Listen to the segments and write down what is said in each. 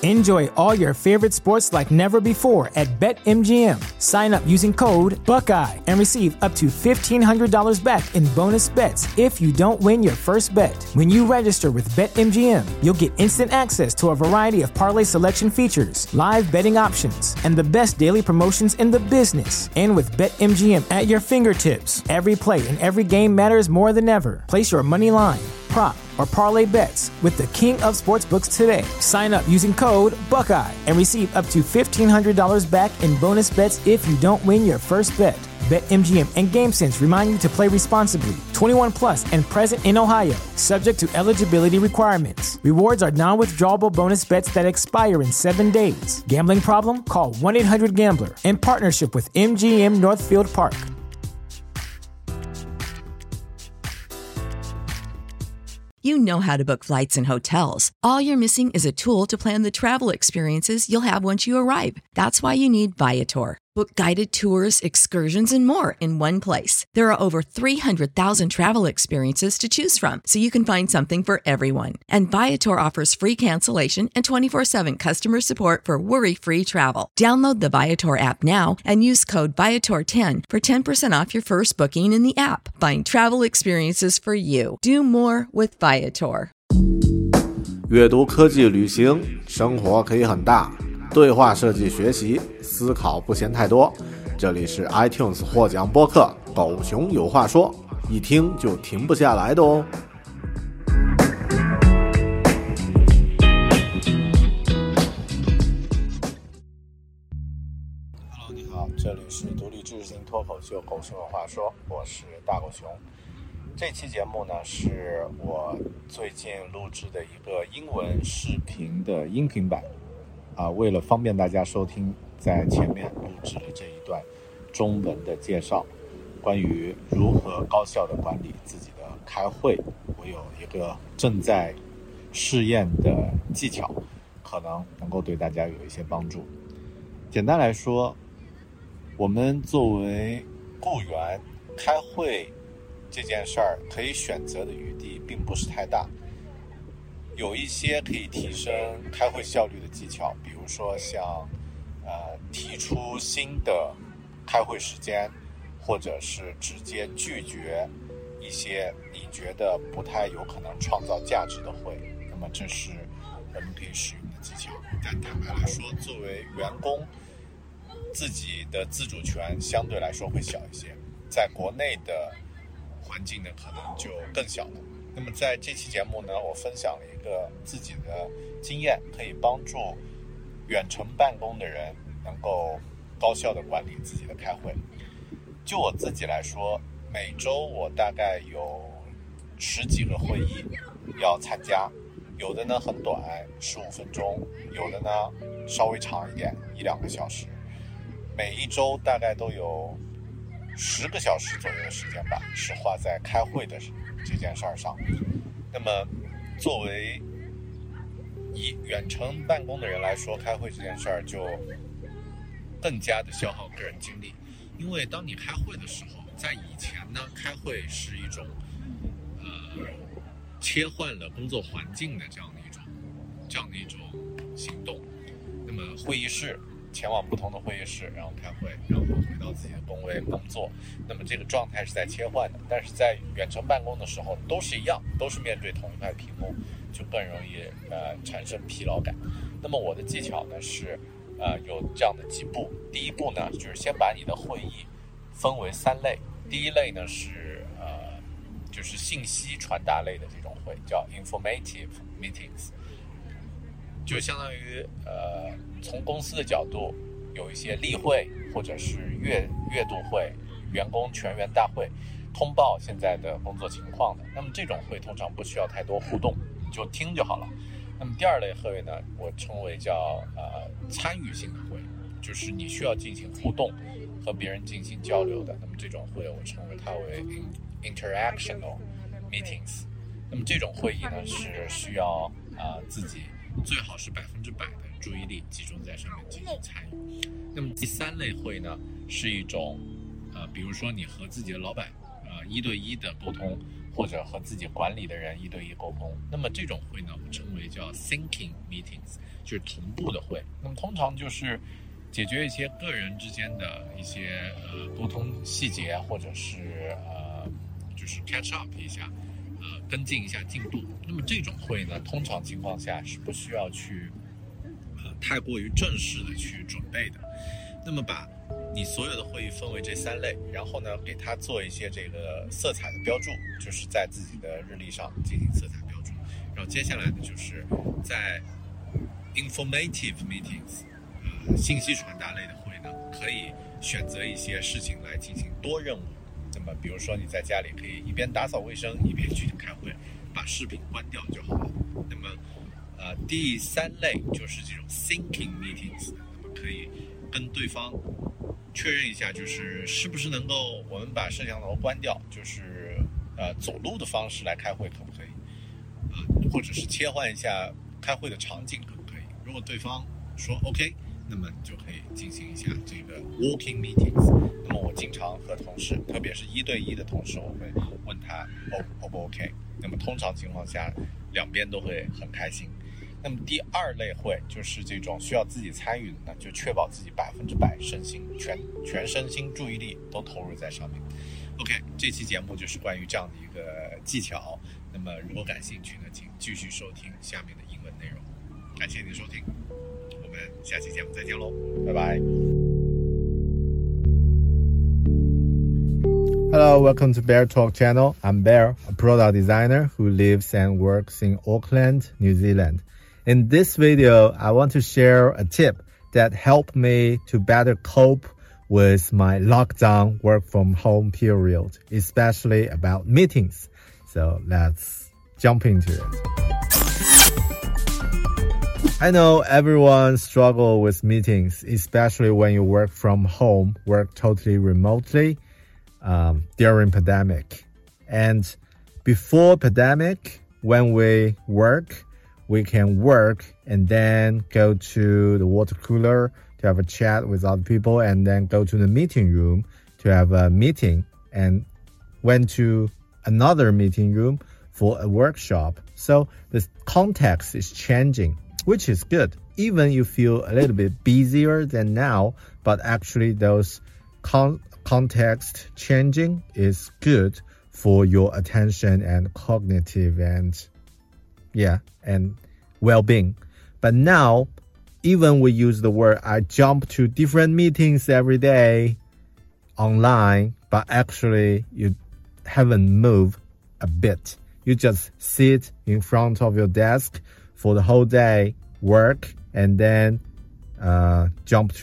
Enjoy all your favorite sports like never before at BetMGM. Sign up using code Buckeye and receive up to $1,500 back in bonus bets if you don't win your first bet. When you register with BetMGM, you'll get instant access to a variety of parlay selection features, live betting options, and the best daily promotions in the business. And with BetMGM at your fingertips, every play and every game matters more than ever. Place your money line, prop, or parlay bets with the king of sportsbooks today. Sign up using code Buckeye and receive up to $1,500 back in bonus bets if you don't win your first bet. BetMGM and GameSense remind you to play responsibly. 21 plus and present in Ohio, subject to eligibility requirements. Rewards are non-withdrawable bonus bets that expire in 7 days. Gambling problem? Call 1-800-GAMBLER. In partnership with MGM Northfield Park. You know how to book flights and hotels. All you're missing is a tool to plan the travel experiences you'll have once you arrive. That's why you need Viator. Book guided tours, excursions, and more in one place. There are over 300,000 travel experiences to choose from, so you can find something for everyone. And Viator offers free cancellation and 24/7 customer support for worry-free travel. Download the Viator app now and use code Viator10 for 10% off your first booking in the app. Find travel experiences for you. Do more with Viator. 阅读、科技、旅行，生活可以很大。对话设计学习，思考不嫌太多。这里是 iTunes 获奖播客狗熊有话说，一听就停不下来的哦。Hello， 你好，这里是独立知识型脱口秀狗熊有话说，我是大狗熊。这期节目呢是我最近录制的一个英文视频的音频版。为了方便大家收听，在前面录制了这一段中文的介绍，关于如何高效的管理自己的开会。我有一个正在试验的技巧，可能能够对大家有一些帮助。简单来说，我们作为雇员，开会这件事儿可以选择的余地并不是太大。有一些可以提升开会效率的技巧，比如说像提出新的开会时间，或者是直接拒绝一些你觉得不太有可能创造价值的会，那么这是我们可以使用的技巧。但坦白来说，作为员工，自己的自主权相对来说会小一些，在国内的环境呢可能就更小了。那么在这期节目呢，我分享了一个自己的经验，可以帮助远程办公的人能够高效的管理自己的开会。就我自己来说，每周我大概有10几个会议要参加，有的呢很短，15分钟，有的呢稍微长一点，1-2个小时。每一周大概都有10个小时左右的时间吧，是花在开会的这件事儿上。那么作为以远程办公的人来说，开会这件事儿就更加的消耗个人精力。因为当你开会的时候，在以前呢，开会是一种切换了工作环境的这样的一种行动。那么会议室，前往不同的会议室，然后开会，然后回到自己的工位工作。那么这个状态是在切换的，但是在远程办公的时候都是一样，都是面对同一块屏幕，就更容易产生疲劳感。那么我的技巧呢是有这样的几步。第一步呢就是先把你的会议分为3类。第一类呢是就是信息传达类的这种会，叫 informative meetings， 就相当于从公司的角度有一些例会或者是月度会、员工全员大会，通报现在的工作情况的。那么这种会通常不需要太多互动，就听就好了。那么第二类会呢，我称为叫参与性的会，就是你需要进行互动，和别人进行交流的。那么这种会我称为它为 interactional meetings。那么这种会议呢是需要自己最好是100%的注意力集中在上面进行参与。那么第3类会呢是一种比如说你和自己的老板1对1的沟通， 或者和自己管理的人一对一沟通。那么这种会呢，我称为叫 syncing meetings， 就是同步的会。那么通常就是解决一些个人之间的一些沟通细节，或者是就是 catch up 一下，跟进一下进度。那么这种会呢，通常情况下是不需要去太过于正式的去准备的。那么把你所有的会议分为这3类，然后呢给它做一些这个色彩的标注，就是在自己的日历上进行色彩标注。然后接下来呢，就是在 informative meetings，信息传达类的会呢，可以选择一些事情来进行多任务。那么比如说你在家里可以一边打扫卫生一边去开会，把视频关掉就好了。那么第3类就是这种 thinking meetings， 那么可以跟对方确认一下，就是是不是能够我们把摄像头关掉，就是走路的方式来开会可不可以，或者是切换一下开会的场景可不可以。如果对方说 OK， 那么就可以进行一下这个 walking meetings。 那么我经常和同事，特别是1对1的同事，我会问他 O 不 OK。 那么通常情况下两边都会很开心。那么第2类会就是这种需要自己参与的呢，就确保自己100%身心全身心注意力都投入在上面。 OK， 这期节目就是关于这样的一个技巧。那么如果感兴趣呢，请继续收听下面的英文内容。感谢您的收听，我们下期节目再见喽，拜拜。 Hello, welcome to Bear Talk channel. I'm Bear, a product designer who lives and works in Auckland, New Zealand. In this video, I want to share a tip that helped me to better cope with my lockdown work from home period, especially about meetings. So let's jump into it. I know everyone struggles with meetings, especially when you work from home, work totally remotely. During pandemic. And before pandemic, when we work, we can work and then go to the water cooler to have a chat with other people, and then go to the meeting room to have a meeting, and went to another meeting room for a workshop. So the context is changing, which is good. Even you feel a little bit busier than now, but actually those context changing is good for your attention and cognitive and well-being. But now, even we use the word, I jump to different meetings every day online, but actually you haven't moved a bit. You just sit in front of your desk for the whole day, work, and then jump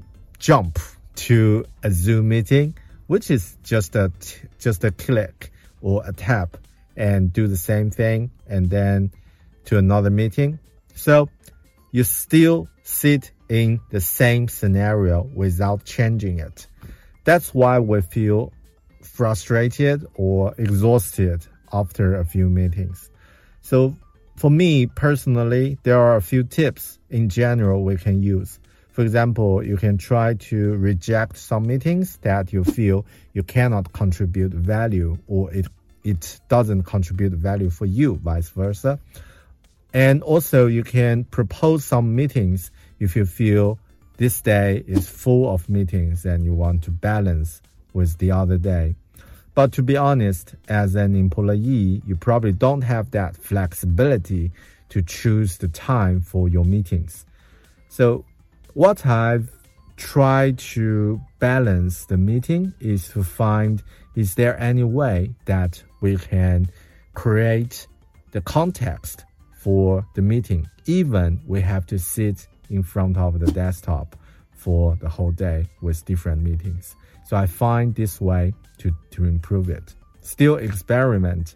to a Zoom meeting, which is just a click or a tap, and do the same thing, and then to another meeting. So you still sit in the same scenario without changing it. That's why we feel frustrated or exhausted after a few meetings. So for me personally, there are a few tips in general we can use. For example, you can try to reject some meetings that you feel you cannot contribute value, or it doesn't contribute value for you, vice versa. And also you can propose some meetings if you feel this day is full of meetings and you want to balance with the other day. But to be honest, as an employee, you probably don't have that flexibility to choose the time for your meetings. So what I've tried to balance the meeting is to find, is there any way that we can create the context for the meeting, even we have to sit in front of the desktop for the whole day with different meetings. So I find this way to improve it. Still experience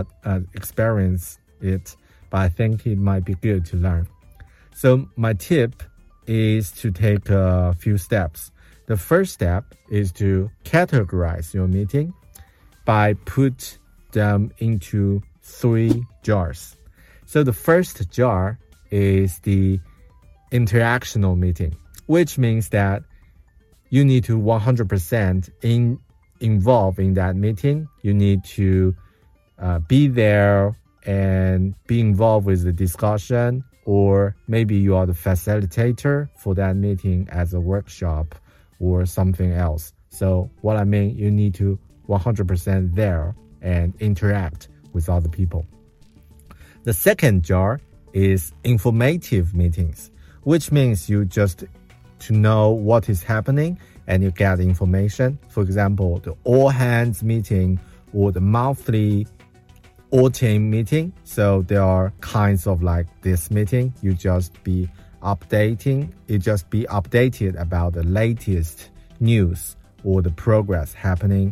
it, but I think it might be good to learn. So my tip is to take a few steps. The first step is to categorize your meeting by put them into 3 jars. So the first jar is the interactional meeting, which means that you need to 100% involve in that meeting. You need to be there and be involved with the discussion, or maybe you are the facilitator for that meeting as a workshop or something else. So what I mean, you need to 100% there and interact with other people. The second jar is informative meetings, which means you just to know what is happening and you get information. For example, the all hands meeting or the monthly all team meeting. So there are kinds of like this meeting. You just be updated about the latest news or the progress happening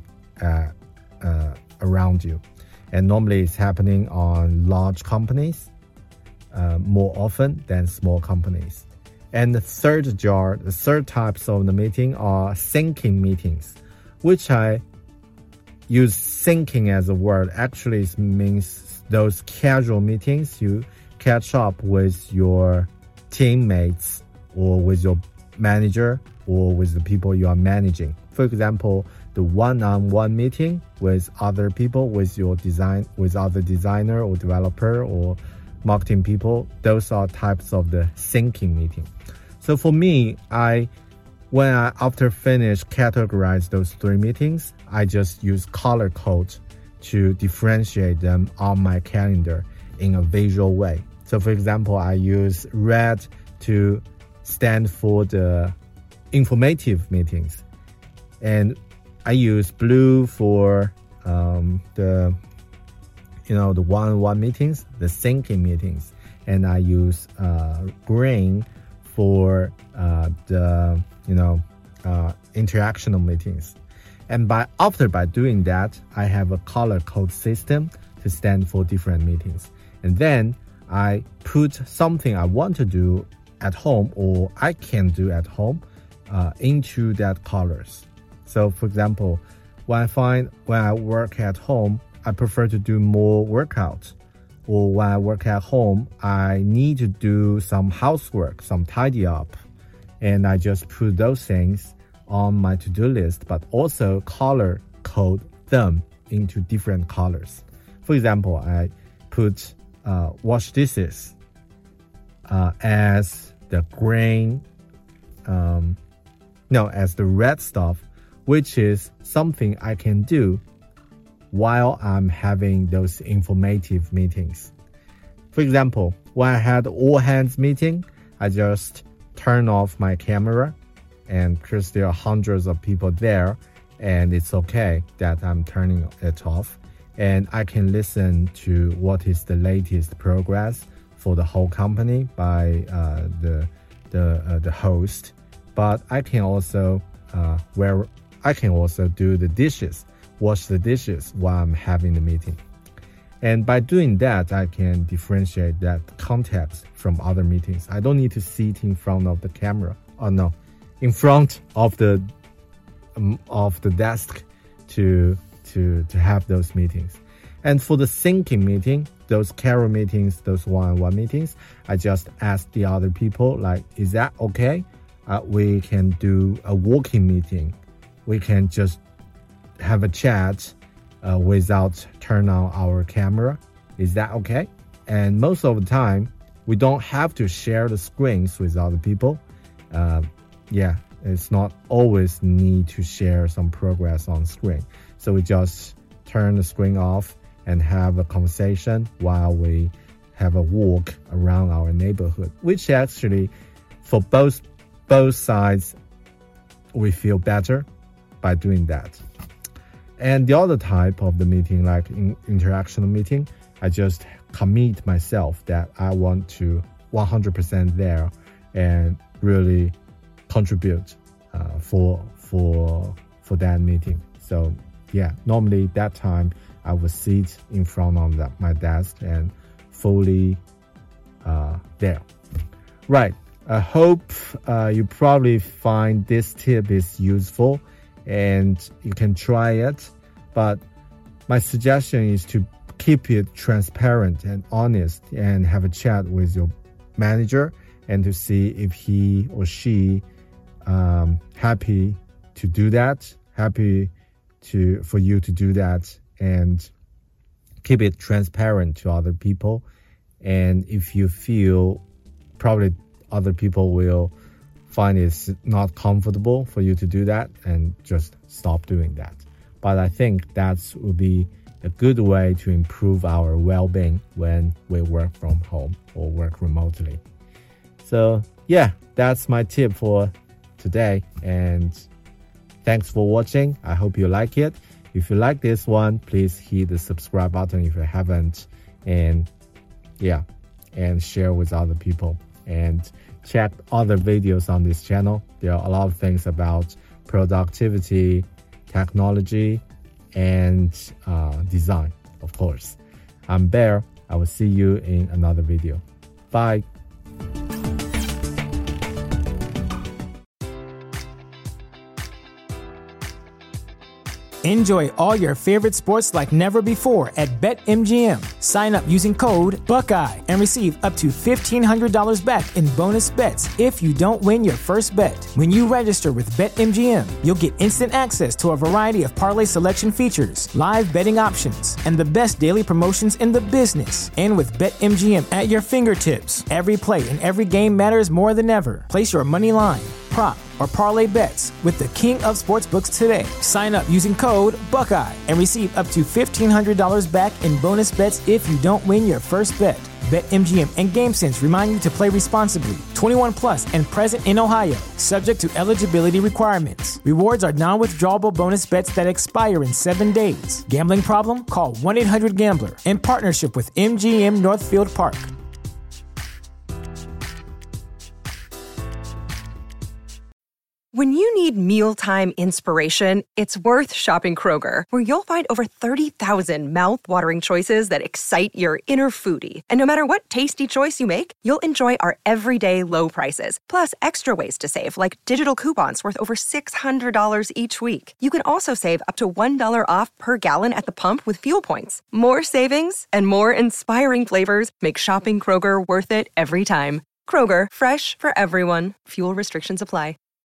around you. And normally it's happening on large companies more often than small companies. And the third types of the meeting are syncing meetings, which I use syncing as a word. Actually, it means those casual meetings you catch up with your teammates or with your manager or with the people you are managing. For example, the one-on-one meeting with other people, with other designer or developer or marketing people, those are types of the syncing meeting. So for me, after finish categorize those three meetings, I just use color code to differentiate them on my calendar in a visual way. So for example, I use red to stand for the informative meetings, and I use blue for the one-on-one meetings, the syncing meetings, and I use green for the interactional meetings. And by doing that, I have a color code system to stand for different meetings. And then I put something I want to do at home or I can do at home into that colors. So for example, when I work at home, I prefer to do more workouts. Or when I work at home, I need to do some housework, some tidy up. And I just put those things on my to-do list, but also color code them into different colors. For example, I put wash dishes as the green, as the red stuff, which is something I can do while I'm having those informative meetings. For example, when I had all hands meeting, I just turn off my camera, and because there are hundreds of people there, and it's okay that I'm turning it off, and I can listen to what is the latest progress for the whole company by the host. But I can also do the dishes, wash the dishes while I'm having the meeting. And by doing that, I can differentiate that context from other meetings. I don't need to sit in front of the camera, in front of the desk to have those meetings. And for the syncing meeting, those carol meetings, those one-on-one meetings, I just ask the other people, like, is that okay? We can do a walking meeting. We can just have a chat without turn on our camera. Is that okay? And most of the time, we don't have to share the screens with other people. It's not always need to share some progress on screen. So we just turn the screen off and have a conversation while we have a walk around our neighborhood, which actually for both sides, we feel better by doing that. And the other type of the meeting, like interactional meeting, I just commit myself that I want to 100% there and really contribute for that meeting. So normally that time I would sit in front of my desk and fully there. Right. I hope you probably find this tip is useful and you can try it. But my suggestion is to keep it transparent and honest and have a chat with your manager and to see if he or she happy to do that, for you to do that, and keep it transparent to other people. And if you feel probably other people will find it's not comfortable for you to do that, and just stop doing that. But I think that would be a good way to improve our well-being when we work from home or work remotely. So yeah, that's my tip for today, and thanks for watching. I hope you like it. If you like this one, please hit the subscribe button if you haven't, and share with other people, and check other videos on this channel. There are a lot of things about productivity, technology, and design, of course. I'm Bear. I will see you in another video. Bye. Enjoy all your favorite sports like never before at BetMGM. Sign up using code Buckeye and receive up to $1,500 back in bonus bets if you don't win your first bet. When you register with BetMGM, you'll get instant access to a variety of parlay selection features, live betting options, and the best daily promotions in the business. And with BetMGM at your fingertips, every play and every game matters more than ever. Place your money line, prop, or parlay bets with the king of sportsbooks today. Sign up using code Buckeye and receive up to $1,500 back in bonus bets if you don't win your first bet. BetMGM and GameSense remind you to play responsibly. 21 plus and present in Ohio, subject to eligibility requirements. Rewards are non-withdrawable bonus bets that expire in 7 days. Gambling problem? Call 1-800-GAMBLER. In partnership with MGM Northfield Park. When you need mealtime inspiration, it's worth shopping Kroger, where you'll find over 30,000 mouth-watering choices that excite your inner foodie. And no matter what tasty choice you make, you'll enjoy our everyday low prices, plus extra ways to save, like digital coupons worth over $600 each week. You can also save up to $1 off per gallon at the pump with fuel points. More savings and more inspiring flavors make shopping Kroger worth it every time. Kroger, fresh for everyone. Fuel restrictions apply.